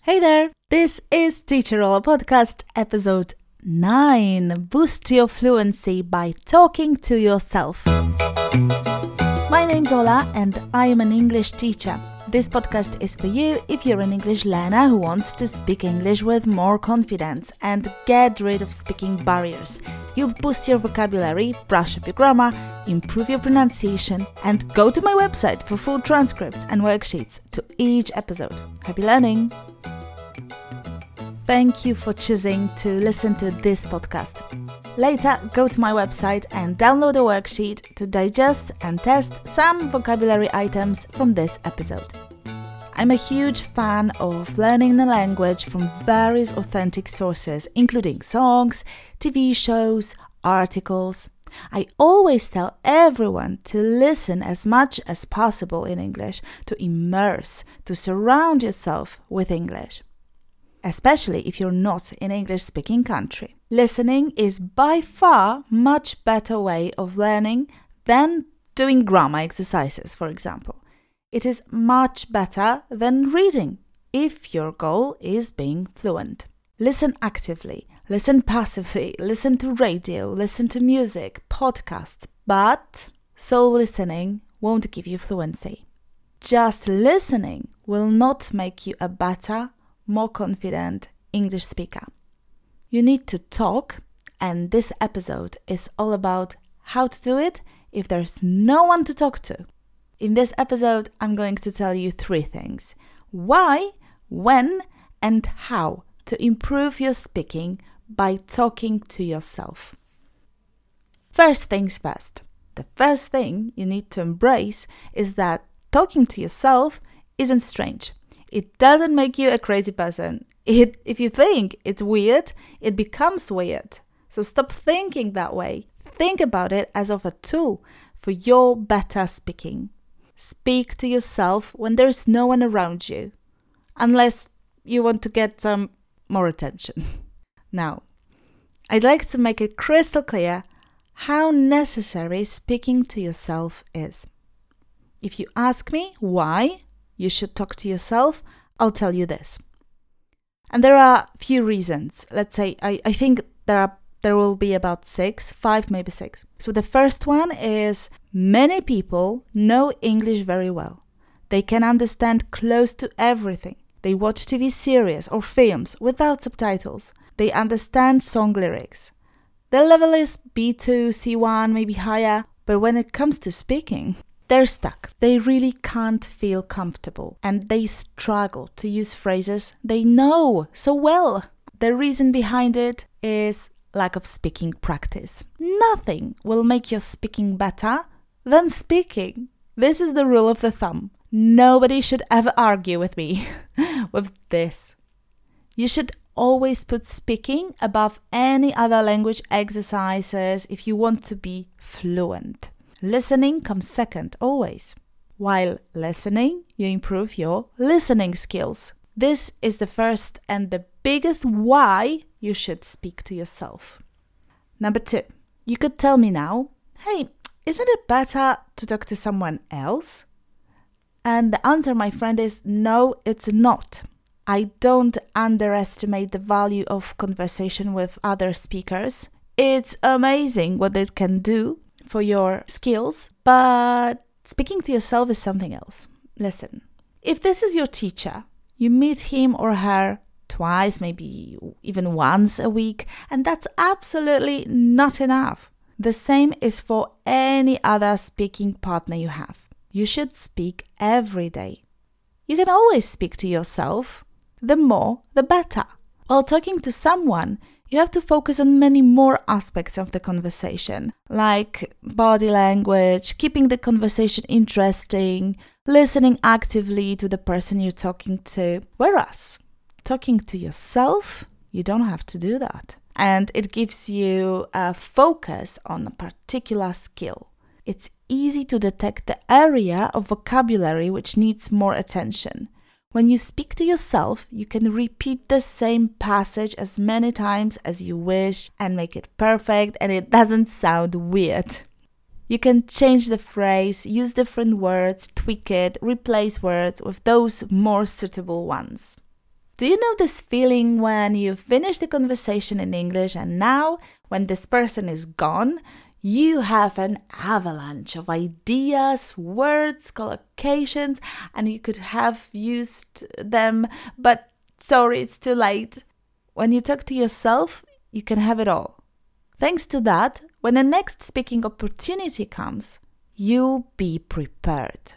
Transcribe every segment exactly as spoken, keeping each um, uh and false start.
Hey there, this is Teacher Ola Podcast, episode nine. Boost your fluency by talking to yourself. My name's Ola and I am an English teacher. This podcast is for you if you're an English learner who wants to speak English with more confidence and get rid of speaking barriers. You'll boost your vocabulary, brush up your grammar, improve your pronunciation, and go to my website for full transcripts and worksheets to each episode. Happy learning! Thank you for choosing to listen to this podcast. Later, go to my website and download a worksheet to digest and test some vocabulary items from this episode. I'm a huge fan of learning the language from various authentic sources, including songs, T V shows, articles. I always tell everyone to listen as much as possible in English, to immerse, to surround yourself with English. Especially if you're not in an English-speaking country. Listening is by far much better way of learning than doing grammar exercises, for example. It is much better than reading if your goal is being fluent. Listen actively, listen passively, listen to radio, listen to music, podcasts, but sole listening won't give you fluency. Just listening will not make you a better, more confident English speaker. You need to talk, and this episode is all about how to do it if there's no one to talk to. In this episode, I'm going to tell you three things: why, when, and how to improve your speaking by talking to yourself. First things first. The first thing you need to embrace is that talking to yourself isn't strange. It doesn't make you a crazy person. It, if you think it's weird, it becomes weird. So stop thinking that way. Think about it as of a tool for your better speaking. Speak to yourself when there's no one around you, unless you want to get some more attention. Now, I'd like to make it crystal clear how necessary speaking to yourself is. If you ask me why you should talk to yourself, I'll tell you this. And there are a few reasons. Let's say, I, I think there are there will be about six, five, maybe six. So the first one is many people know English very well. They can understand close to everything. They watch T V series or films without subtitles. They understand song lyrics. Their level is B two, C one, maybe higher. But when it comes to speaking, they're stuck. They really can't feel comfortable and they struggle to use phrases they know so well. The reason behind it is lack of speaking practice. Nothing will make your speaking better than speaking. This is the rule of the thumb. Nobody should ever argue with me with this. You should always put speaking above any other language exercises if you want to be fluent. Listening comes second, always. While listening, you improve your listening skills. This is the first and the biggest why you should speak to yourself. Number two, you could tell me now, hey, isn't it better to talk to someone else? And the answer, my friend, is no, it's not. I don't underestimate the value of conversation with other speakers. It's amazing what it can do for your skills, but speaking to yourself is something else. Listen, if this is your teacher, you meet him or her twice, maybe even once a week, and that's absolutely not enough. The same is for any other speaking partner you have. You should speak every day. You can always speak to yourself. The more, the better. While talking to someone, you have to focus on many more aspects of the conversation, like body language, keeping the conversation interesting, listening actively to the person you're talking to. Whereas, talking to yourself, you don't have to do that. And it gives you a focus on a particular skill. It's easy to detect the area of vocabulary which needs more attention. When you speak to yourself, you can repeat the same passage as many times as you wish and make it perfect, and it doesn't sound weird. You can change the phrase, use different words, tweak it, replace words with those more suitable ones. Do you know this feeling when you finish the conversation in English and now, when this person is gone, you have an avalanche of ideas, words, collocations, and you could have used them, but sorry, it's too late. When you talk to yourself, you can have it all. Thanks to that, when the next speaking opportunity comes, you'll be prepared.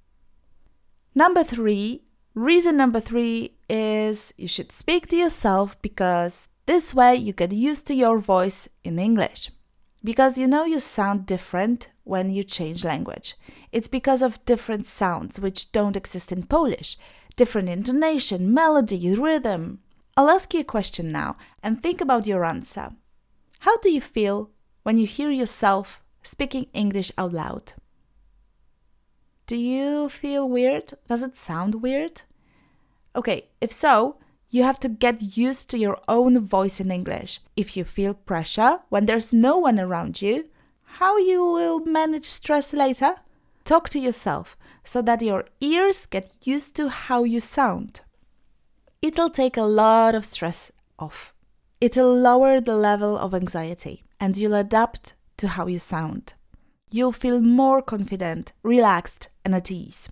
Number three, reason number three is you should speak to yourself because this way you get used to your voice in English. Because you know you sound different when you change language. It's because of different sounds which don't exist in Polish. Different intonation, melody, rhythm. I'll ask you a question now and think about your answer. How do you feel when you hear yourself speaking English out loud? Do you feel weird? Does it sound weird? Okay, if so, you have to get used to your own voice in English. If you feel pressure when there's no one around you, how you will manage stress later? Talk to yourself so that your ears get used to how you sound. It'll take a lot of stress off. It'll lower the level of anxiety and you'll adapt to how you sound. You'll feel more confident, relaxed, and at ease.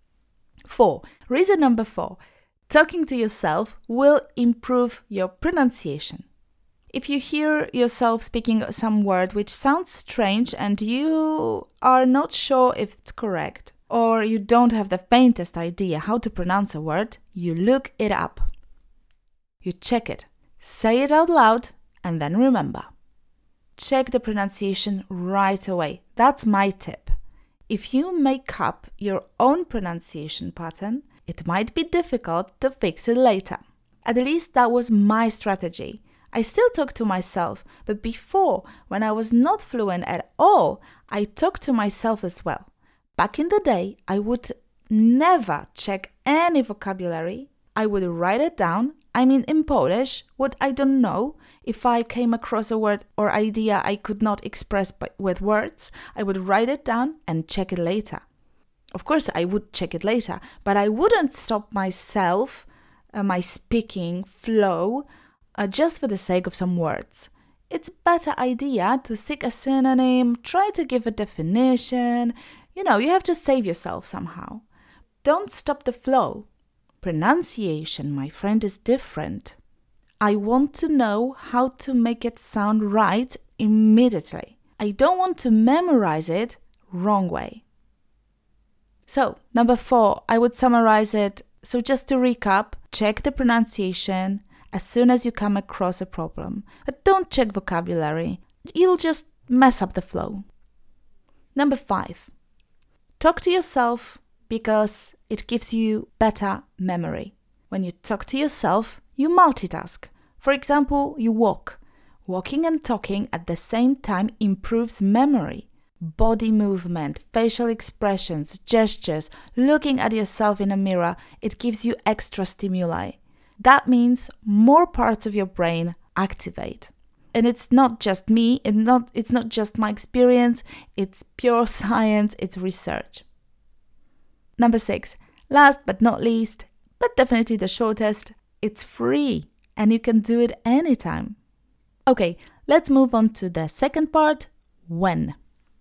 Four. Reason number four. Talking to yourself will improve your pronunciation. If you hear yourself speaking some word which sounds strange and you are not sure if it's correct, or you don't have the faintest idea how to pronounce a word, you look it up. You check it, say it out loud, and then remember. Check the pronunciation right away. That's my tip. If you make up your own pronunciation pattern, it might be difficult to fix it later. At least that was my strategy. I still talk to myself, but before, when I was not fluent at all, I talked to myself as well. Back in the day, I would never check any vocabulary. I would write it down, I mean in Polish, what I don't know. If I came across a word or idea I could not express by, with words, I would write it down and check it later. Of course, I would check it later, but I wouldn't stop myself, uh, my speaking flow, uh, just for the sake of some words. It's a better idea to seek a synonym, try to give a definition. You know, you have to save yourself somehow. Don't stop the flow. Pronunciation, my friend, is different. I want to know how to make it sound right immediately. I don't want to memorize it wrong way. So, number four, I would summarize it. So just to recap, check the pronunciation as soon as you come across a problem. But don't check vocabulary. You'll just mess up the flow. Number five, talk to yourself because it gives you better memory. When you talk to yourself, you multitask. For example, you walk. Walking and talking at the same time improves memory. Body movement, facial expressions, gestures, looking at yourself in a mirror, it gives you extra stimuli. That means more parts of your brain activate. And it's not just me, it's not, it's not just my experience, it's pure science, it's research. Number six, last but not least, but definitely the shortest, it's free and you can do it anytime. Okay, let's move on to the second part, when.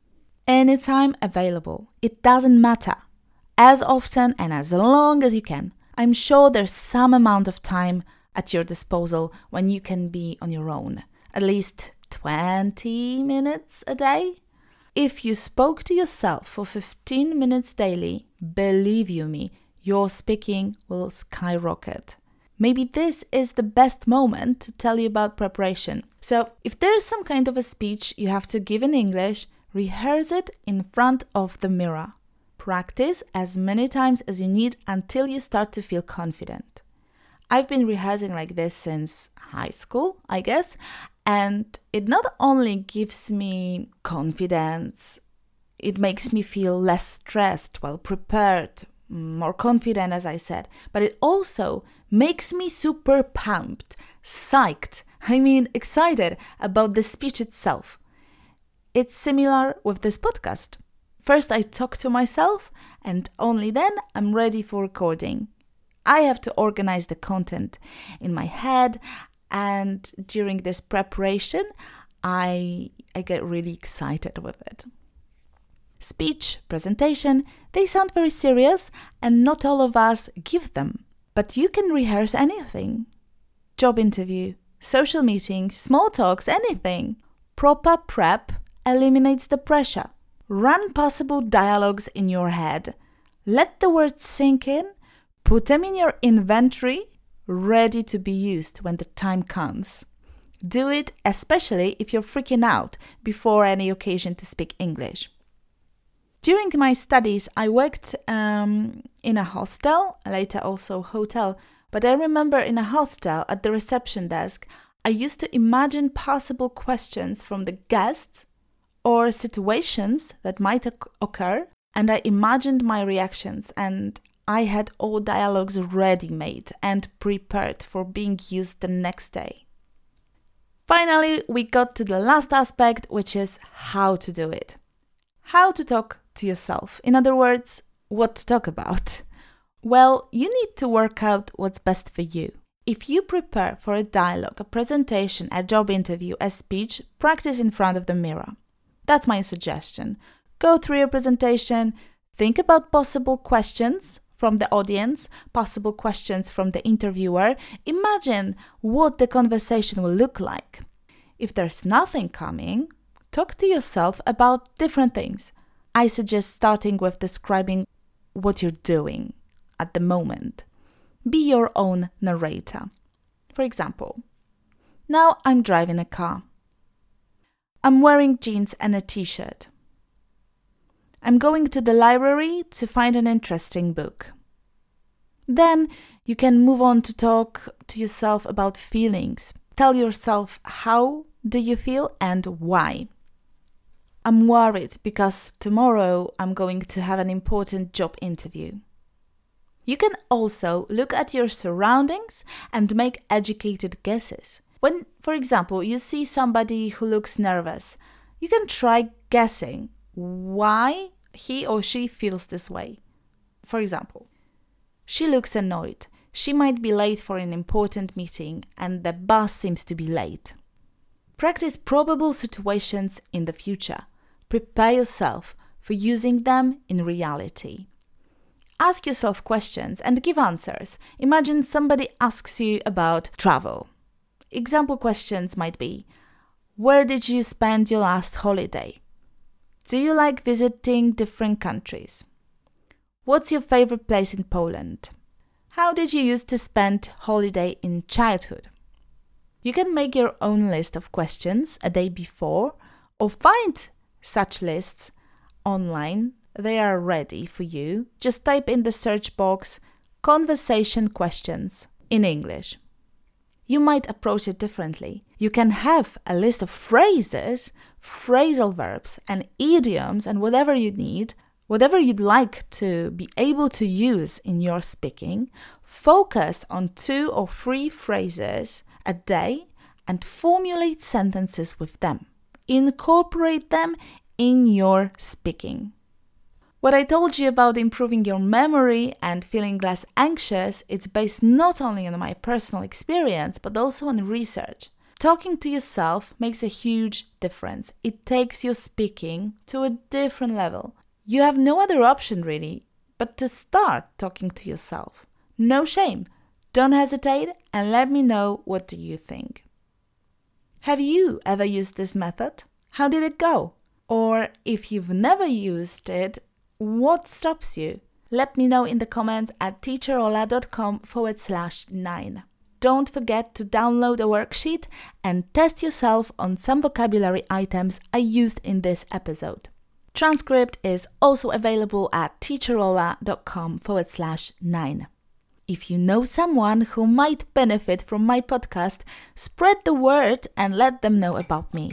Anytime available. It doesn't matter. As often and as long as you can. I'm sure there's some amount of time at your disposal when you can be on your own. At least twenty minutes a day. If you spoke to yourself for fifteen minutes daily, believe you me, your speaking will skyrocket. Maybe this is the best moment to tell you about preparation. So, if there is some kind of a speech you have to give in English, rehearse it in front of the mirror. Practice as many times as you need until you start to feel confident. I've been rehearsing like this since high school, I guess, and it not only gives me confidence, it makes me feel less stressed, well prepared, more confident, as I said, but it also makes me super pumped, psyched, I mean excited about the speech itself. It's similar with this podcast. First I talk to myself and only then I'm ready for recording. I have to organize the content in my head, and during this preparation, I, I get really excited with it. Speech, presentation, they sound very serious, and not all of us give them. But you can rehearse anything. Job interview, social meeting, small talks, anything. Proper prep eliminates the pressure. Run possible dialogues in your head. Let the words sink in. Put them in your inventory, ready to be used when the time comes. Do it especially if you're freaking out before any occasion to speak English. During my studies, I worked um, in a hostel, later also hotel, but I remember in a hostel at the reception desk, I used to imagine possible questions from the guests or situations that might occur, and I imagined my reactions, and I had all dialogues ready-made and prepared for being used the next day. Finally, we got to the last aspect, which is how to do it. How to talk to yourself. In other words, what to talk about. Well, you need to work out what's best for you. If you prepare for a dialogue, a presentation, a job interview, a speech, practice in front of the mirror. That's my suggestion. Go through your presentation, think about possible questions from the audience, possible questions from the interviewer. Imagine what the conversation will look like. If there's nothing coming, talk to yourself about different things. I suggest starting with describing what you're doing at the moment. Be your own narrator. For example, now I'm driving a car. I'm wearing jeans and a t-shirt. I'm going to the library to find an interesting book. Then you can move on to talk to yourself about feelings. Tell yourself how do you feel and why. I'm worried because tomorrow I'm going to have an important job interview. You can also look at your surroundings and make educated guesses. When, for example, you see somebody who looks nervous, you can try guessing why he or she feels this way. For example, she looks annoyed. She might be late for an important meeting and the bus seems to be late. Practice probable situations in the future. Prepare yourself for using them in reality. Ask yourself questions and give answers. Imagine somebody asks you about travel. Example questions might be, where did you spend your last holiday? Do you like visiting different countries? What's your favorite place in Poland? How did you used to spend holiday in childhood? You can make your own list of questions a day before or find such lists online. They are ready for you. Just type in the search box conversation questions in English. You might approach it differently. You can have a list of phrases, phrasal verbs, and idioms, and whatever you need, whatever you'd like to be able to use in your speaking. Focus on two or three phrases a day and formulate sentences with them. Incorporate them in your speaking. What I told you about improving your memory and feeling less anxious, it's based not only on my personal experience, but also on research. Talking to yourself makes a huge difference. It takes your speaking to a different level. You have no other option really, but to start talking to yourself. No shame. Don't hesitate and let me know, what do you think? Have you ever used this method? How did it go? Or if you've never used it, what stops you? Let me know in the comments at teacherola.com forward slash nine. Don't forget to download a worksheet and test yourself on some vocabulary items I used in this episode. Transcript is also available at teacherola.com forward slash nine. If you know someone who might benefit from my podcast, spread the word and let them know about me.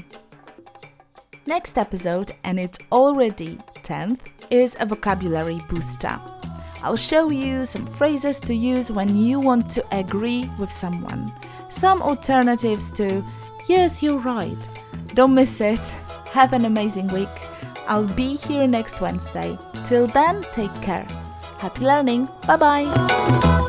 Next episode, and it's already tenth, is a vocabulary booster. I'll show you some phrases to use when you want to agree with someone. Some alternatives to, yes, you're right. Don't miss it. Have an amazing week. I'll be here next Wednesday. Till then, take care. Happy learning. Bye-bye.